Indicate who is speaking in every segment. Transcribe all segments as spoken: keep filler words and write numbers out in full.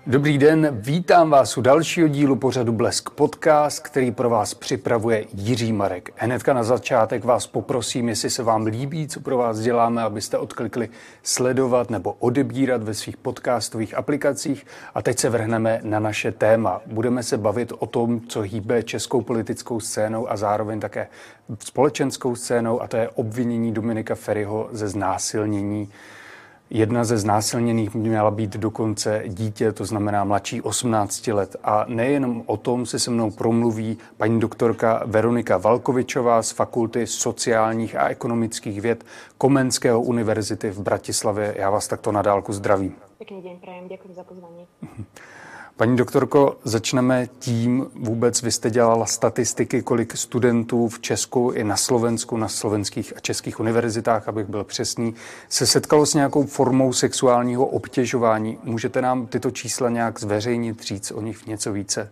Speaker 1: Dobrý den, vítám vás u dalšího dílu pořadu Blesk Podcast, který pro vás připravuje Jiří Marek. Hnedka na začátek vás poprosím, jestli se vám líbí, co pro vás děláme, abyste odklikli sledovat nebo odebírat ve svých podcastových aplikacích. A teď se vrhneme na naše téma. Budeme se bavit o tom, co hýbe českou politickou scénou a zároveň také společenskou scénou, a to je obvinění Dominika Feriho ze znásilnění. Jedna ze znásilněných měla být dokonce dítě, to znamená mladší osmnácti let. A nejenom o tom si se mnou promluví paní doktorka Veronika Valkovičová z Fakulty sociálních a ekonomických věd Komenského univerzity v Bratislavě. Já vás takto na dálku zdravím.
Speaker 2: Pekný deň prajem, ďakujem za pozvanie.
Speaker 1: Paní doktorko, začneme tím, vůbec vy jste dělala statistiky, kolik studentů v Česku i na Slovensku, na slovenských a českých univerzitách, abych byl přesný, se setkalo s nějakou formou sexuálního obtěžování. Můžete nám tyto čísla nějak zveřejnit, říct o nich něco více?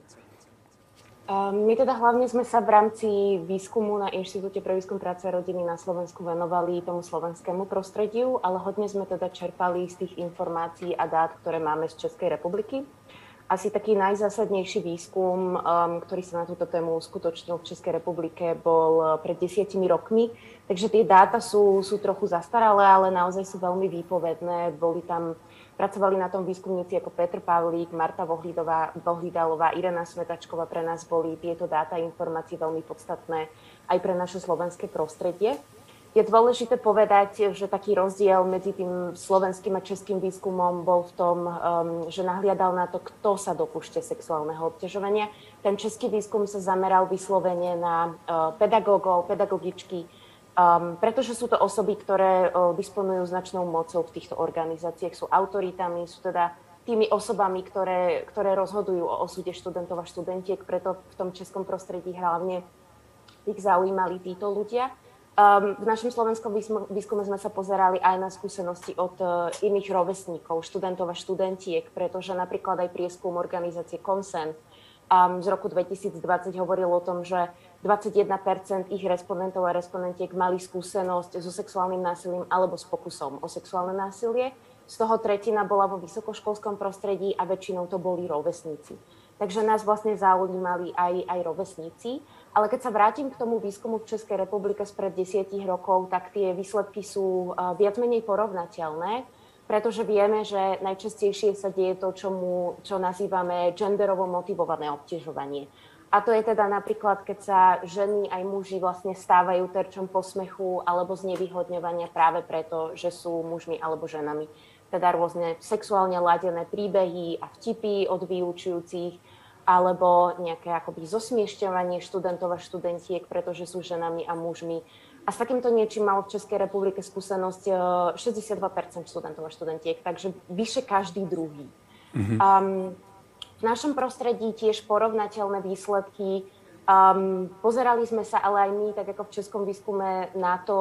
Speaker 2: My teda hlavne sme sa v rámci výskumu na Inštitúte pre výskum práce a rodiny na Slovensku venovali tomu slovenskému prostrediu, ale hodne sme teda čerpali z tých informácií a dát, ktoré máme z Českej republiky. Asi taký najzásadnejší výskum, um, ktorý sa na túto tému uskutočnil v Českej republike, bol pred desiatimi rokmi. Takže tie dáta sú, sú trochu zastaralé, ale naozaj sú veľmi výpovedné. Boli tam, pracovali na tom výskumníci ako Petr Pavlík, Marta Vohlidalová, Irena Smetačková. Pre nás boli tieto dáta a informácie veľmi podstatné aj pre naše slovenské prostredie. Je dôležité povedať, že taký rozdiel medzi tým slovenským a českým výskumom bol v tom, um, že nahliadal na to, kto sa dopúšťa sexuálneho obťažovania. Ten český výskum sa zameral vyslovene na uh, pedagógov, pedagogičky, um, pretože sú to osoby, ktoré uh, disponujú značnou mocou v týchto organizáciách, sú autoritami, sú teda tými osobami, ktoré, ktoré rozhodujú o osude študentov a študentiek, preto v tom českom prostredí hlavne ich zaujímali títo ľudia. Um, v našom slovenskom výskume sme sa pozerali aj na skúsenosti od uh, iných rovesníkov, študentov a študentiek, pretože napríklad aj prieskum organizácie Consent um, z roku dvetisícdvadsať hovoril o tom, že dvadsaťjeden percent ich respondentov a respondentiek mali skúsenosť so sexuálnym násilím alebo s pokusom o sexuálne násilie. Z toho tretina bola vo vysokoškolskom prostredí a väčšinou to boli rovesníci. Takže nás vlastne zaujímali aj, aj rovesníci. Ale keď sa vrátim k tomu výskumu v Českej republike spred desiatich rokov, tak tie výsledky sú uh, viac menej porovnateľné, pretože vieme, že najčastejšie sa deje to, čomu, čo nazývame genderovo motivované obťažovanie. A to je teda napríklad, keď sa ženy aj muži vlastne stávajú terčom posmechu alebo znevýhodňovania práve preto, že sú mužmi alebo ženami. Teda rôzne sexuálne ladené príbehy a vtipy od vyučujúcich, alebo nejaké akoby zosmiešťovanie študentov a študentiek, pretože sú ženami a mužmi. A s takýmto niečím malo v Českej republike skúsenosť šesťdesiatdva percent študentov a študentiek, takže vyše každý druhý. Mm-hmm. Um, v našom prostredí tiež porovnateľné výsledky. Um, pozerali sme sa ale aj my, tak ako v českom výskume, na to,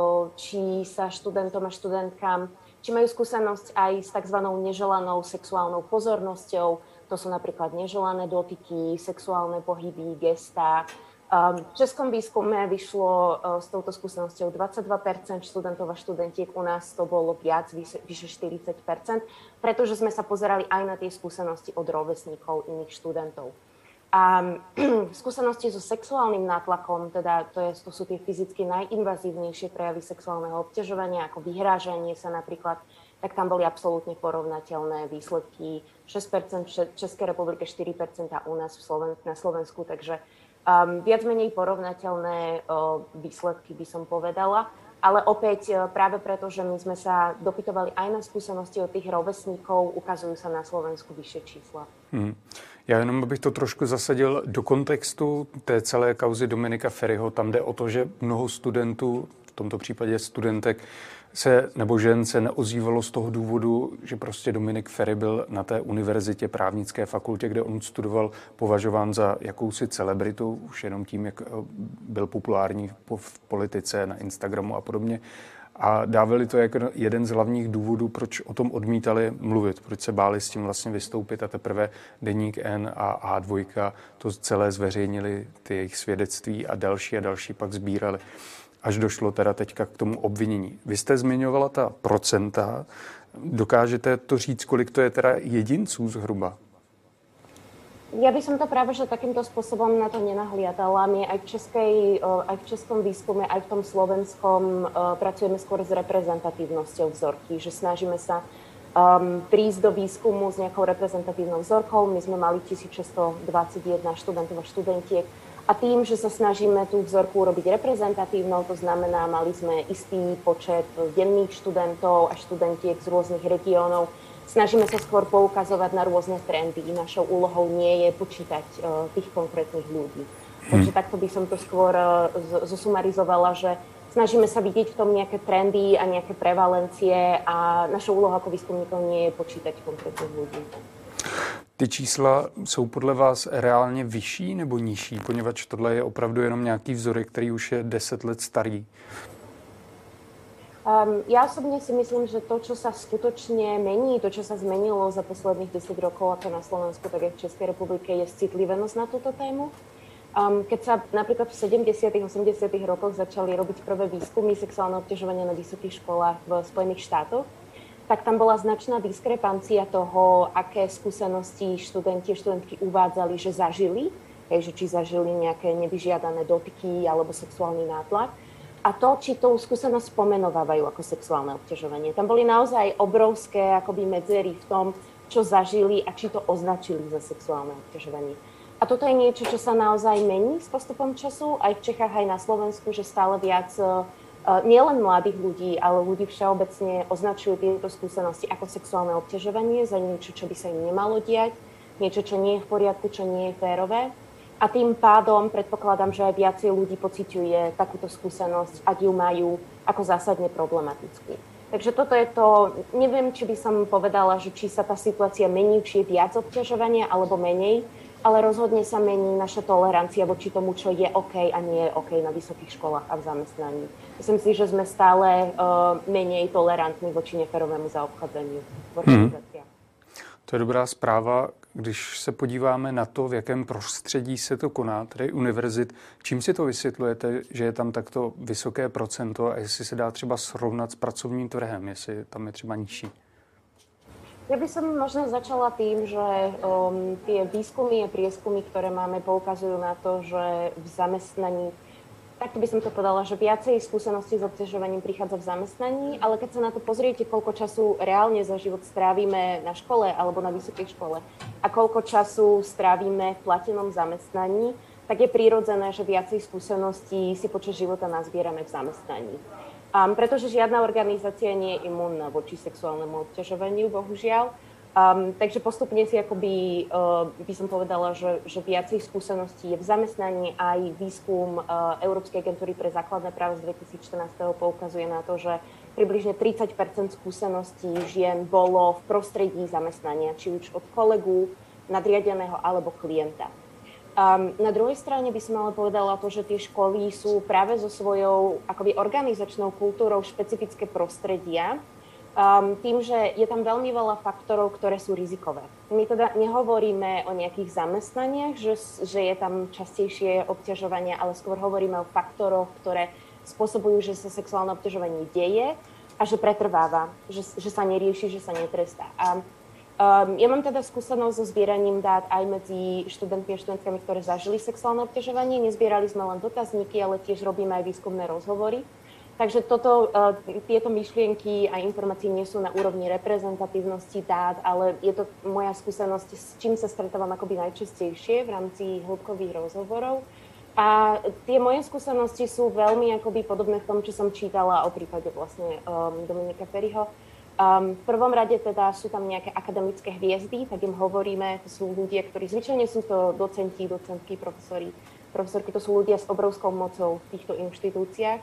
Speaker 2: či sa študentom a študentkám, či majú skúsenosť aj s tzv. Neželanou sexuálnou pozornosťou. To sú napríklad neželané dotyky, sexuálne pohyby, gestá. V českom výskume vyšlo s touto skúsenosťou dvadsaťdva percent študentov a študentiek, u nás to bolo viac, vyše štyridsať percent, pretože sme sa pozerali aj na tie skúsenosti od rovesníkov iných študentov. A skúsenosti so sexuálnym nátlakom, teda to, je, to sú tie fyzicky najinvazívnejšie prejavy sexuálneho obťažovania, ako vyhrážanie sa napríklad, tak tam boli absolútne porovnateľné výsledky. šesť percent v Českej republike, štyri percent u nás v Sloven- na Slovensku, takže um, viac menej porovnateľné uh, výsledky by som povedala. Ale opäť uh, práve preto, že my sme sa dopytovali aj na skúsenosti od tých rovesníkov, ukazujú sa na Slovensku vyššie čísla. Hmm.
Speaker 1: Já jenom bych to trošku zasadil do kontextu té celé kauzy Dominika Feriho. Tam jde o to, že mnoho studentů, v tomto případě studentek, se nebo žen se neozývalo z toho důvodu, že prostě Dominik Feri byl na té univerzitě právnické fakultě, kde on studoval, považován za jakousi celebritu, už jenom tím, jak byl populární v politice, na Instagramu a podobně. A dávali to jako jeden z hlavních důvodů, proč o tom odmítali mluvit, proč se báli s tím vlastně vystoupit, a teprve Deník N a A dva to celé zveřejnili, ty jejich svědectví, a další a další pak sbírali, až došlo teda teďka k tomu obvinění. Vy jste zmiňovala ta procenta, Dokážete to říct, kolik to je teda jedinců zhruba?
Speaker 2: Ja by som to práve že takýmto spôsobom na to nenahliadala. My aj v, českej, aj v českom výskume, aj v tom slovenskom pracujeme skôr s reprezentatívnosťou vzorky, že snažíme sa um, prísť do výskumu s nejakou reprezentatívnou vzorkou. My sme mali tisícšesťstodvadsaťjeden študentov a študentiek a tým, že sa snažíme tú vzorku robiť reprezentatívnou, to znamená, mali sme istý počet denných študentov a študentiek z rôznych regiónov. Snažíme sa skôr poukazovať na rôzne trendy. Našou úlohou nie je počítať uh, tých konkrétnych ľudí. Hmm. Takže takto by som to skôr uh, zosumarizovala, že snažíme sa vidieť v tom nejaké trendy a nejaké prevalencie a našou úlohou ako výskumníkov nie je počítať konkrétnych ľudí.
Speaker 1: Ty čísla jsou podle vás reálně vyšší nebo nižší, poněvadž tohle je opravdu jenom nějaký vzorek, který už je deset let starý?
Speaker 2: Um, ja osobne si myslím, že to, čo sa skutočne mení, to, čo sa zmenilo za posledných desať rokov, ako na Slovensku, tak aj v Českej republike, je citlivenosť na túto tému. Um, keď sa napríklad v sedemdesiatych osemdesiatych rokoch začali robiť prvé výskumy sexuálneho obťažovania na vysokých školách v Spojených štátoch, tak tam bola značná diskrepancia toho, aké skúsenosti študenti a študentky uvádzali, že zažili, hej, že či zažili nejaké nevyžiadané dotyky alebo sexuálny nátlak. A to, či tú skúsenosť pomenovávajú ako sexuálne obťažovanie. Tam boli naozaj obrovské akoby medzery v tom, čo zažili a či to označili za sexuálne obťažovanie. A toto je niečo, čo sa naozaj mení s postupom času, aj v Čechách, aj na Slovensku, že stále viac uh, nielen mladých ľudí, ale ľudí všeobecne označujú tieto skúsenosti ako sexuálne obťažovanie za niečo, čo by sa im nemalo diať, niečo, čo nie je v poriadku, čo nie je férové. A tým pádom predpokladám, že aj viacej ľudí pociťuje takúto skúsenosť, ak ju majú ako zásadne problematickú. Takže toto je to, neviem, či by som povedala, že či sa tá situácia mení, či je viac obťažovania alebo menej, ale rozhodne sa mení naša tolerancia voči tomu, čo je OK a nie je OK na vysokých školách a v zamestnaní. Myslím si, že sme stále uh, menej tolerantní voči neférovému zaobchádzaniu v organizáciách.
Speaker 1: Hmm. To je dobrá zpráva. Když se podíváme na to, v jakém prostředí se to koná, tedy univerzit, čím si to vysvětlujete, že je tam takto vysoké procento a jestli se dá třeba srovnat s pracovním trhem, jestli tam je třeba nižší?
Speaker 2: Ja by som možno začala tým, že um, tie výskumy a prieskumy, ktoré máme, poukazujú na to, že v zamestnaní, takto by som to povedala, že viacej skúseností s obťažovaním prichádza v zamestnaní, ale keď sa na to pozriete, koľko času reálne za život strávime na škole alebo na vysokej škole a koľko času strávime v platenom zamestnaní, tak je prirodzené, že viacej skúseností si počas života nazbierame v zamestnaní. Um, pretože žiadna organizácia nie je imúnna voči sexuálnemu obťažovaniu, bohužiaľ. Um, takže postupne si akoby, uh, by som povedala, že, že viacej skúseností je v zamestnaní. Aj výskum uh, Európskej agentúry pre základné práva z dvetisícštrnásť poukazuje na to, že približne tridsať percent skúseností žien bolo v prostredí zamestnania, či už od kolegu, nadriadeného alebo klienta. Um, na druhej strane by som ale povedala to, že tie školy sú práve so svojou akoby organizačnou kultúrou špecifické prostredia, um, tým, že je tam veľmi veľa faktorov, ktoré sú rizikové. My teda nehovoríme o nejakých zamestnaniach, že, že je tam častejšie obťažovanie, ale skôr hovoríme o faktoroch, ktoré spôsobujú, že sa sexuálne obťažovanie deje a že pretrváva, že, že sa nerieši, že sa netrestá. A Um, ja mám teda skúsenosť so zbieraním dát aj medzi študentmi a študentkami, ktoré zažili sexuálne obťažovanie. Nezbierali sme len dotazníky, ale tiež robíme aj výskumné rozhovory. Takže toto, uh, tieto myšlienky a informácie nie sú na úrovni reprezentatívnosti dát, ale je to moja skúsenosť, s čím sa stretávam akoby najčastejšie v rámci hĺbkových rozhovorov. A tie moje skúsenosti sú veľmi akoby podobné v tom, čo som čítala o prípade vlastne um, Dominika Feriho. Um, v prvom rade teda sú tam nejaké akademické hviezdy, tak im hovoríme, to sú ľudia, ktorí zvyčajne sú to docenti, docentky, profesori, profesorky, to sú ľudia s obrovskou mocou v týchto inštitúciách.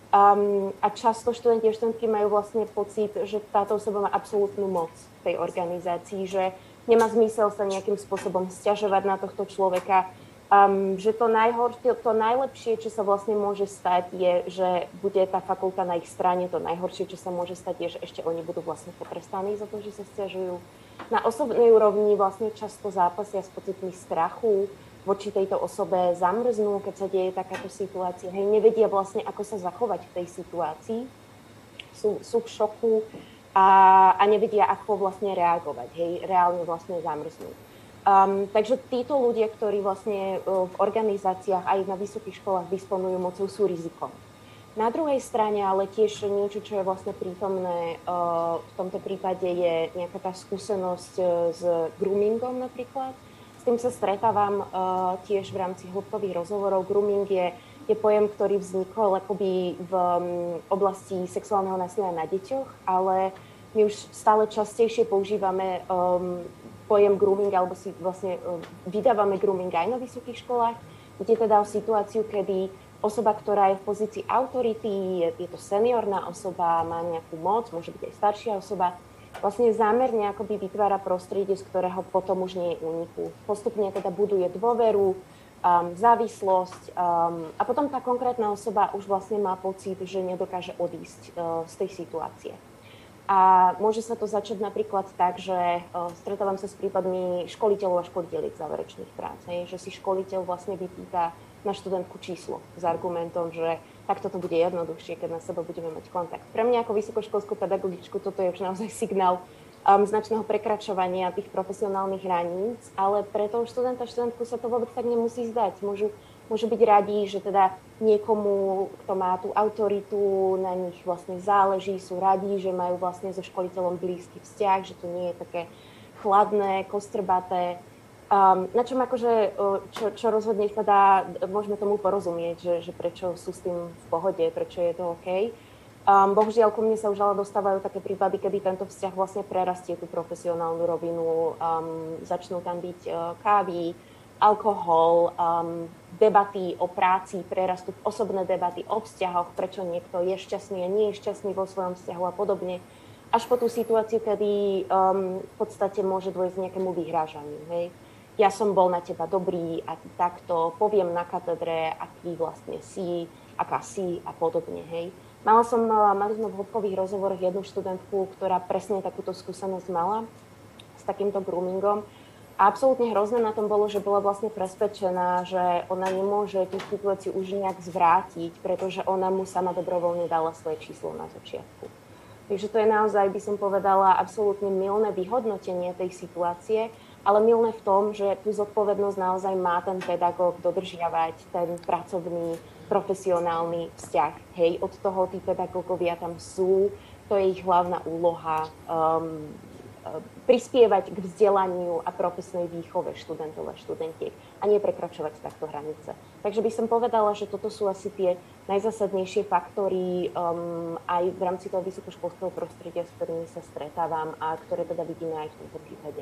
Speaker 2: Um, a často študenti a študentky majú vlastne pocit, že táto osoba má absolútnu moc v tej organizácii, že nemá zmysel sa nejakým spôsobom sťažovať na tohto človeka, Um, že to najhoršie, to najlepšie, čo sa vlastne môže stať, je, že bude tá fakulta na ich strane. To najhoršie, čo sa môže stať, je, že ešte oni budú vlastne potrestaní za to, že sa sťažujú. Na osobnej úrovni vlastne často zápasia s pocitmi strachu voči tejto osobe, zamrznú, keď sa deje takáto situácia. Hej, nevedia vlastne, ako sa zachovať v tej situácii. Sú, sú v šoku. a, a nevedia, ako vlastne reagovať, hej, reálne vlastne zamrznúť. Um, takže títo ľudia, ktorí vlastne uh, v organizáciách aj na vysokých školách disponujú mocou, sú rizikom. Na druhej strane ale tiež niečo, čo je vlastne prítomné uh, v tomto prípade, je nejaká tá skúsenosť uh, s groomingom napríklad. S tým sa stretávam uh, tiež v rámci hĺbkových rozhovorov. Grooming je, je pojem, ktorý vznikol akoby v um, oblasti sexuálneho násilia na deťoch, ale my už stále častejšie používame um, pojem grooming, alebo si vlastne um, vydávame grooming aj na vysokých školách. Ide teda o situáciu, kedy osoba, ktorá je v pozícii autority, je, je to seniorná osoba, má nejakú moc, môže byť aj staršia osoba, vlastne zámerne akoby vytvára prostredie, z ktorého potom už nie je úniku. Postupne teda buduje dôveru, um, závislosť um, a potom tá konkrétna osoba už vlastne má pocit, že nedokáže odísť uh, z tej situácie. A môže sa to začať napríklad tak, že uh, stretávam sa s prípadmi školiteľov a školiteľiek záverečných prác, hej, že si školiteľ vlastne vypýta na študentku číslo s argumentom, že takto to bude jednoduchšie, keď na seba budeme mať kontakt. Pre mňa ako vysokoškolskú pedagogičku toto je už naozaj signál um, značného prekračovania tých profesionálnych hraníc, ale pre toho študenta, študentku sa to vôbec tak nemusí zdať. Môžu, môžu byť radi, že teda niekomu, kto má tú autoritu, na nich vlastne záleží, sú radi, že majú vlastne so školiteľom blízky vzťah, že to nie je také chladné, kostrbaté. Um, na čom akože, čo, čo rozhodne teda môžeme tomu porozumieť, že, že prečo sú s tým v pohode, prečo je to OK. Um, bohužiaľ, ku mne sa už ale dostávajú také prípady, kedy tento vzťah vlastne prerastie tú profesionálnu rovinu, um, začnú tam byť uh, kávy, alkohol, um, debaty o práci, prerastú osobné debaty o vzťahoch, prečo niekto je šťastný a nie je šťastný vo svojom vzťahu a podobne. Až po tú situáciu, kedy um, v podstate môže dôjsť nejakému vyhrážaniu, hej. Ja som bol na teba dobrý a ty takto, poviem na katedre, aký vlastne si, aká si a podobne, hej. Mala som, mali sme v hĺbkových rozhovoroch jednu študentku, ktorá presne takúto skúsenosť mala s takýmto groomingom. A absolútne hrozné na tom bolo, že bola vlastne presvedčená, že ona nemôže tú situáciu už nejak zvrátiť, pretože ona mu sama dobrovoľne dala svoje číslo na začiatku. Takže to je naozaj, by som povedala, absolútne mylné vyhodnotenie tej situácie, ale mylné v tom, že tú zodpovednosť naozaj má ten pedagóg dodržiavať, ten pracovný, profesionálny vzťah. Hej, od toho tí pedagógovia tam sú, to je ich hlavná úloha, um, prispievať k vzdelaniu a profesnej výchove študentov a študentiek a nie prekračovať takto hranice. Takže by som povedala, že toto sú asi tie najzásadnejšie faktory um, aj v rámci toho vysokoškolského prostredia, s ktorými sa stretávam a ktoré teda vidíme aj v tomto prípade.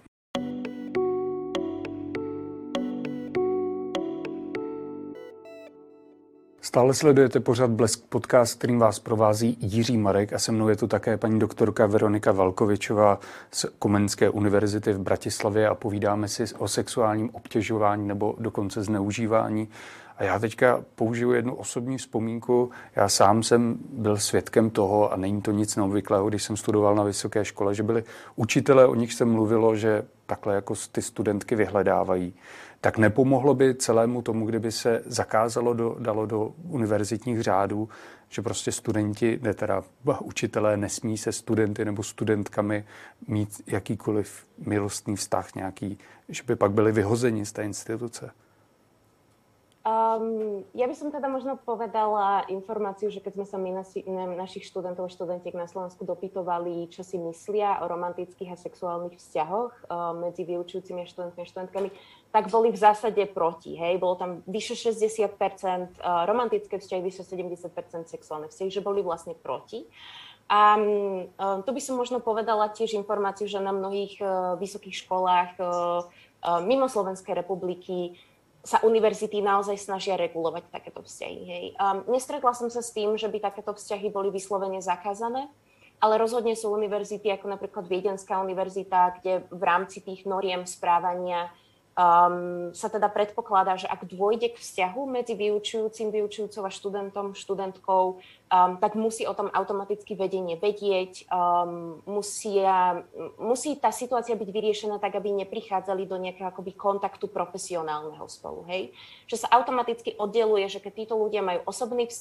Speaker 1: Stále sledujete pořad Blesk podcast, kterým vás provází Jiří Marek a se mnou je tu také paní doktorka Veronika Valkovičová z Komenské univerzity v Bratislavě a povídáme si o sexuálním obtěžování nebo dokonce zneužívání. A já teďka použiju jednu osobní vzpomínku. Já sám jsem byl svědkem toho, a není to nic neobvyklého, když jsem studoval na vysoké škole, že byli učitelé, o nich se mluvilo, že takhle jako ty studentky vyhledávají. Tak nepomohlo by celému tomu, kdyby se zakázalo, do, dalo do univerzitních řádů, že prostě studenti, ne teda učitelé, nesmí se studenty nebo studentkami mít jakýkoliv milostný vztah nějaký, že by pak byli vyhozeni z té instituce?
Speaker 2: Um, ja by som teda možno povedala informáciu, že keď sme sa my nasi, na, našich študentov a študentiek na Slovensku dopytovali, čo si myslia o romantických a sexuálnych vzťahoch um, medzi vyučujúcimi a študentmi a študentkami, tak boli v zásade proti. Hej? Bolo tam vyše šesťdesiat percent uh, romantické vzťahy, vyše sedemdesiat percent sexuálne vzťahy, že boli vlastne proti. A um, tu by som možno povedala tiež informáciu, že na mnohých uh, vysokých školách uh, uh, mimo Slovenskej republiky sa univerzity naozaj snažia regulovať takéto vzťahy. Hej. Um, nestretla som sa s tým, že by takéto vzťahy boli vyslovene zakázané, ale rozhodne sú univerzity, ako napríklad Viedenská univerzita, kde v rámci tých noriem správania um, sa teda predpokladá, že ak dôjde k vzťahu medzi vyučujúcim, vyučujúcou a študentom, študentkou, um, tak musí o tom automaticky vedenie vedieť, um, musia, musí tá situácia byť vyriešená tak, aby neprichádzali do nejakého akoby kontaktu profesionálneho spolu. Hej? Že sa automaticky oddeluje, že keď títo ľudia majú osobný vzťah,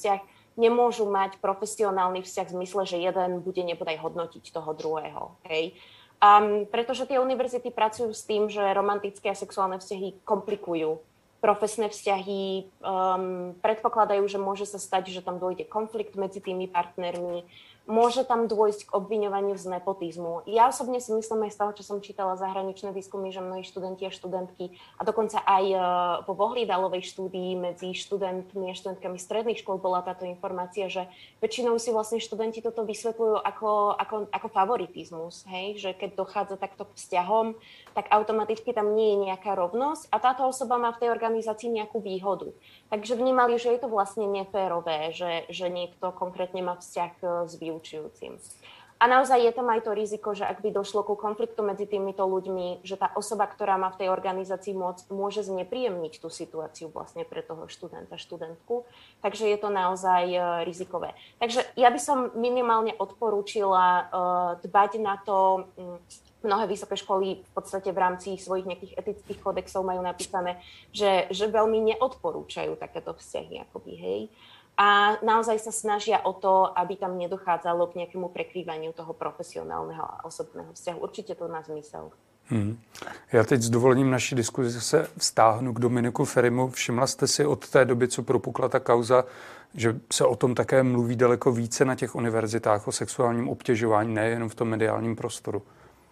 Speaker 2: nemôžu mať profesionálny vzťah v zmysle, že jeden bude nebodaj hodnotiť toho druhého. Hej. Um, pretože tie univerzity pracujú s tým, že romantické a sexuálne vzťahy komplikujú profesné vzťahy, um, predpokladajú, že môže sa stať, že tam dôjde konflikt medzi tými partnermi, môže tam dôjsť k obviňovaniu z nepotizmu. Ja osobne si myslím aj z toho, čo som čítala zahraničné výskumy, že mnohí študenti a študentky, a dokonca aj uh, po Vohlidalovej štúdii medzi študentmi a študentkami stredných škôl bola táto informácia, že väčšinou si vlastne študenti toto vysvetľujú ako, ako, ako favoritizmus, hej? Že keď dochádza takto k vzťahom, tak automaticky tam nie je nejaká rovnosť a táto osoba má v tej organizácii nejakú výhodu. Takže vnímali, že je to vlastne neférové, že, že niekto konkrétne má vzťah s vyučujúcim. A naozaj je tam aj to riziko, že ak by došlo ku konfliktu medzi týmito ľuďmi, že tá osoba, ktorá má v tej organizácii moc, môže znepríjemniť tú situáciu vlastne pre toho študenta, študentku. Takže je to naozaj rizikové. Takže ja by som minimálne odporúčila uh, dbať na to. Um, Mnohé vysoké školy v podstate v rámci svojich nejakých etických kódexov majú napísané, že, že veľmi neodporúčajú takéto vzťahy, akoby, hej. A naozaj sa snažia o to, aby tam nedochádzalo k nejakému prekrývaniu toho profesionálneho a osobného vzťahu. Určite to má zmysel.
Speaker 1: Hmm. Já teď s dovolením naší diskuzi se vztáhnu k Dominiku Ferimu. Všimla jste si od té doby, co propukla ta kauza, že se o tom také mluví daleko více na těch univerzitách o sexuálním obtěžování, nejenom v tom mediálním prostoru?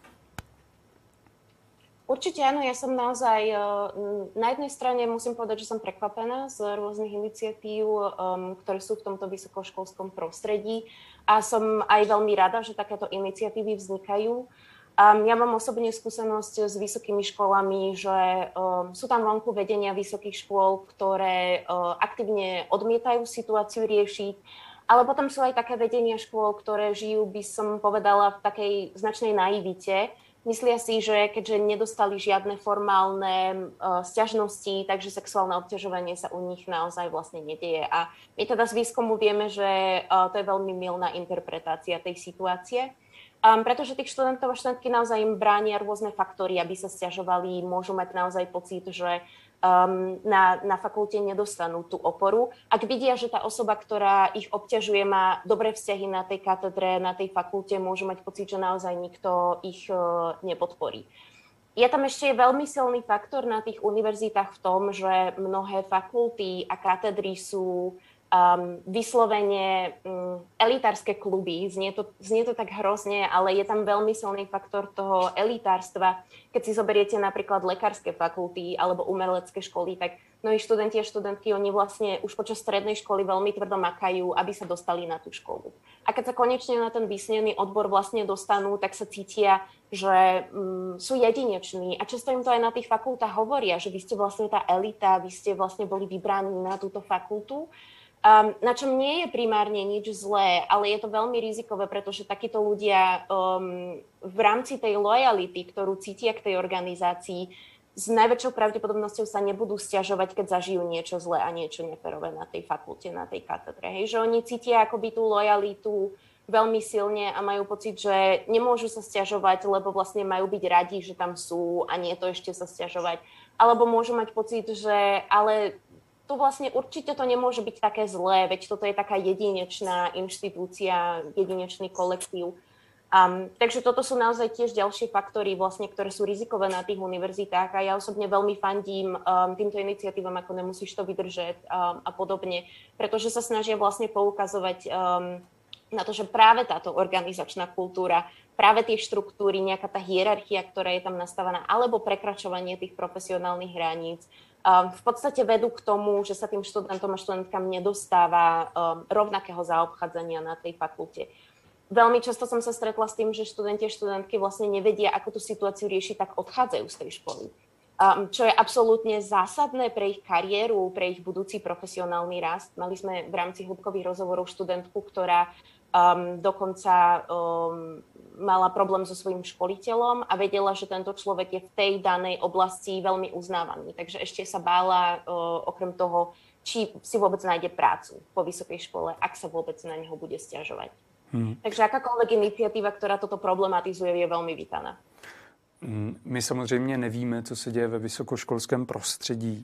Speaker 2: Určite áno, ja som naozaj, na jednej strane musím povedať, že som prekvapená z rôznych iniciatív, um, ktoré sú v tomto vysokoškolskom prostredí a som aj veľmi rada, že takéto iniciatívy vznikajú. Um, ja mám osobne skúsenosť s vysokými školami, že um, sú tam vonku vedenia vysokých škôl, ktoré uh, aktívne odmietajú situáciu riešiť, ale potom sú aj také vedenia škôl, ktoré žijú, by som povedala, v takej značnej naivite. Myslia si, že keďže nedostali žiadne formálne uh, sťažnosti, takže sexuálne obťažovanie sa u nich naozaj vlastne nedieje. A my teda z výskumu vieme, že uh, to je veľmi mylná interpretácia tej situácie. Um, pretože tých študentov a študentky naozaj im bránia rôzne faktory, aby sa sťažovali, môžu mať naozaj pocit, že um, na, na fakulte nedostanú tú oporu. Ak vidia, že tá osoba, ktorá ich obťažuje, má dobré vzťahy na tej katedre, na tej fakulte, môžu mať pocit, že naozaj nikto ich uh, nepodporí. Je tam ešte veľmi silný faktor na tých univerzitách v tom, že mnohé fakulty a katedry sú Um, vyslovene um, elitárske kluby, znie to, znie to tak hrozne, ale je tam veľmi silný faktor toho elitárstva. Keď si zoberiete napríklad lekárske fakulty alebo umelecké školy, tak mnohí študenti a študentky, oni vlastne už počas strednej školy veľmi tvrdo makajú, aby sa dostali na tú školu. A keď sa konečne na ten vysnený odbor vlastne dostanú, tak sa cítia, že um, sú jedineční. A často im to aj na tých fakultách hovoria, že vy ste vlastne tá elita, vy ste vlastne boli vybraní na túto fakultu. Um, na čom nie je primárne nič zlé, ale je to veľmi rizikové, pretože takíto ľudia um, v rámci tej lojality, ktorú cítia k tej organizácii, s najväčšou pravdepodobnosťou sa nebudú sťažovať, keď zažijú niečo zlé a niečo neférové na tej fakulte, na tej katedre. Hej, že oni cítia akoby tú lojalitu veľmi silne a majú pocit, že nemôžu sa sťažovať, lebo vlastne majú byť radi, že tam sú a nie to ešte sa sťažovať. Alebo môžu mať pocit, že ale tu vlastne určite to nemôže byť také zlé, veď toto je taká jedinečná inštitúcia, jedinečný kolektív. Um, takže toto sú naozaj tiež ďalšie faktory, vlastne, ktoré sú rizikové na tých univerzitách a ja osobne veľmi fandím um, týmto iniciatívam, ako Nemusíš to vydržať um, a podobne, pretože sa snažia vlastne poukazovať um, na to, že práve táto organizačná kultúra, práve tie štruktúry, nejaká tá hierarchia, ktorá je tam nastavená, alebo prekračovanie tých profesionálnych hraníc, Um, v podstate vedú k tomu, že sa tým študentom a študentkám nedostáva um, rovnakého zaobchádzania na tej fakulte. Veľmi často som sa stretla s tým, že študenti a študentky vlastne nevedia, ako tú situáciu riešiť, tak odchádzajú z tej školy. Um, čo je absolútne zásadné pre ich kariéru, pre ich budúci profesionálny rast. Mali sme v rámci hĺbkových rozhovorov študentku, ktorá um, dokonca um, mala problém so svojím školiteľom a vedela, že tento človek je v tej danej oblasti veľmi uznávaný. Takže ešte sa bála uh, okrem toho, či si vôbec nájde prácu po vysokej škole, ak sa vôbec na neho bude sťažovať. Hmm. Takže akákoľvek iniciatíva, ktorá toto problematizuje, je veľmi vítaná.
Speaker 1: My samozřejmě nevíme, co se děje ve vysokoškolském prostředí.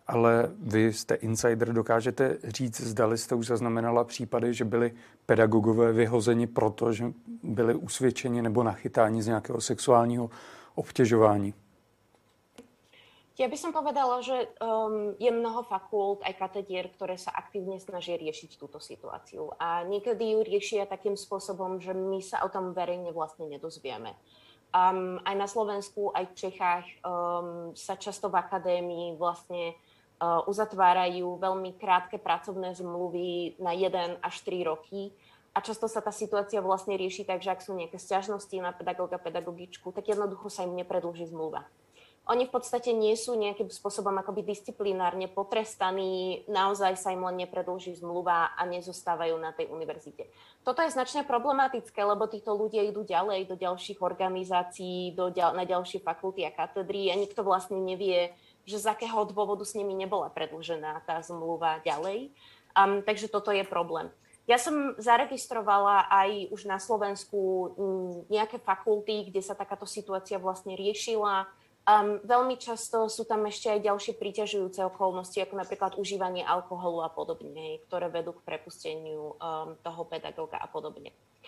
Speaker 1: ale vy jste insider, dokážete říct, zdali jste už zaznamenala případy, že byli pedagogové vyhozeni proto, že byli usvědčeni nebo nachytáni z nějakého sexuálního obtěžování?
Speaker 2: Ja by som povedala, že um, je mnoho fakult aj katedier, ktoré sa aktívne snažia riešiť túto situáciu. A niekedy ju riešia takým spôsobom, že my sa o tom verejne vlastne nedozvieme. Um, aj na Slovensku, aj v Čechách um, sa často v akadémii vlastne uh, uzatvárajú veľmi krátke pracovné zmluvy na jeden až tri roky. A často sa tá situácia vlastne rieši tak, že ak sú nejaké sťažnosti na pedagóga, pedagogičku, tak jednoducho sa im nepredĺží zmluva. Oni v podstate nie sú nejakým spôsobom akoby disciplinárne potrestaní, naozaj sa im len nepredĺží zmluva a nezostávajú na tej univerzite. Toto je značne problematické, lebo títo ľudia idú ďalej do ďalších organizácií, do ďal, na ďalšie fakulty a katedry a nikto vlastne nevie, že z akého dôvodu s nimi nebola predĺžená tá zmluva ďalej. Um, takže toto je problém. Ja som zaregistrovala aj už na Slovensku nejaké fakulty, kde sa takáto situácia vlastne riešila. Um, veľmi často sú tam ešte aj ďalšie príťažujúce okolnosti, ako napríklad užívanie alkoholu a podobne, ktoré vedú k prepusteniu um, toho pedagóga a podobne.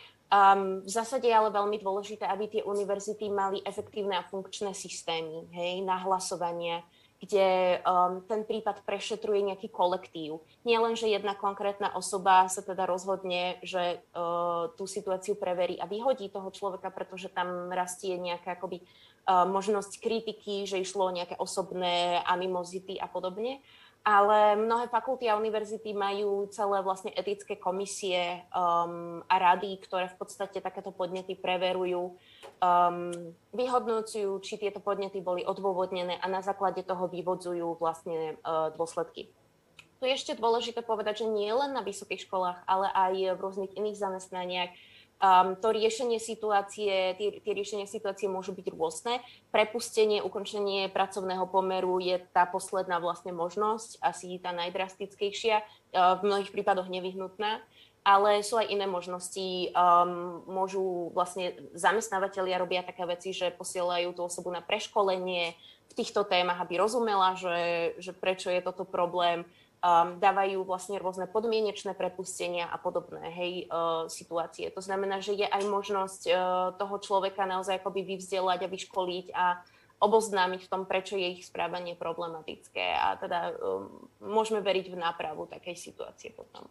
Speaker 2: Um, v zásade je ale veľmi dôležité, aby tie univerzity mali efektívne a funkčné systémy, hej, nahlasovania, kde um, ten prípad prešetruje nejaký kolektív. Nie len, že jedna konkrétna osoba sa teda rozhodne, že uh, tú situáciu preverí a vyhodí toho človeka, pretože tam rastie nejaká akoby možnosť kritiky, že išlo o nejaké osobné animozity a podobne. Ale mnohé fakulty a univerzity majú celé vlastne etické komisie um, a rady, ktoré v podstate takéto podnety preverujú, um, vyhodnocujú, či tieto podnety boli odôvodnené a na základe toho vyvodzujú vlastne uh, dôsledky. Tu je ešte dôležité povedať, že nie len na vysokých školách, ale aj v rôznych iných zamestnaniach Um, to riešenie situácie, tie, tie riešenia situácie môžu byť rôzne. Prepustenie, ukončenie pracovného pomeru je tá posledná vlastne možnosť, asi tá najdrastickejšia, uh, v mnohých prípadoch nevyhnutná, ale sú aj iné možnosti. Um, môžu vlastne zamestnávateľia robia také veci, že posielajú tú osobu na preškolenie v týchto témach, aby rozumela, že, že prečo je toto problém. Um, dávajú vlastne rôzne podmienečné prepustenia a podobné, hej, uh, situácie. To znamená, že je aj možnosť uh, toho človeka naozaj akoby vyvzdelať a vyškoliť a oboznámiť v tom, prečo je ich správanie problematické. A teda um, môžeme veriť v nápravu takej situácie potom.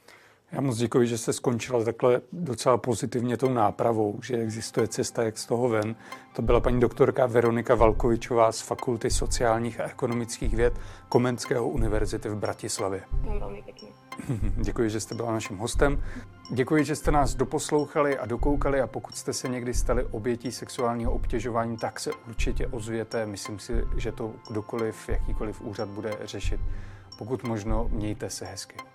Speaker 1: Já moc děkuji, že jste skončila takhle docela pozitivně tou nápravou, že existuje cesta, jak z toho ven. To byla paní doktorka Veronika Valkovičová z Fakulty sociálních a ekonomických věd Komenského univerzity v Bratislavě.
Speaker 2: Velmi pěkně.
Speaker 1: Děkuji, že jste byla naším hostem. Děkuji, že jste nás doposlouchali a dokoukali a pokud jste se někdy stali obětí sexuálního obtěžování, tak se určitě ozvěte. Myslím si, že to kdokoliv, jakýkoliv úřad bude řešit. Pokud možno, mějte se hezky.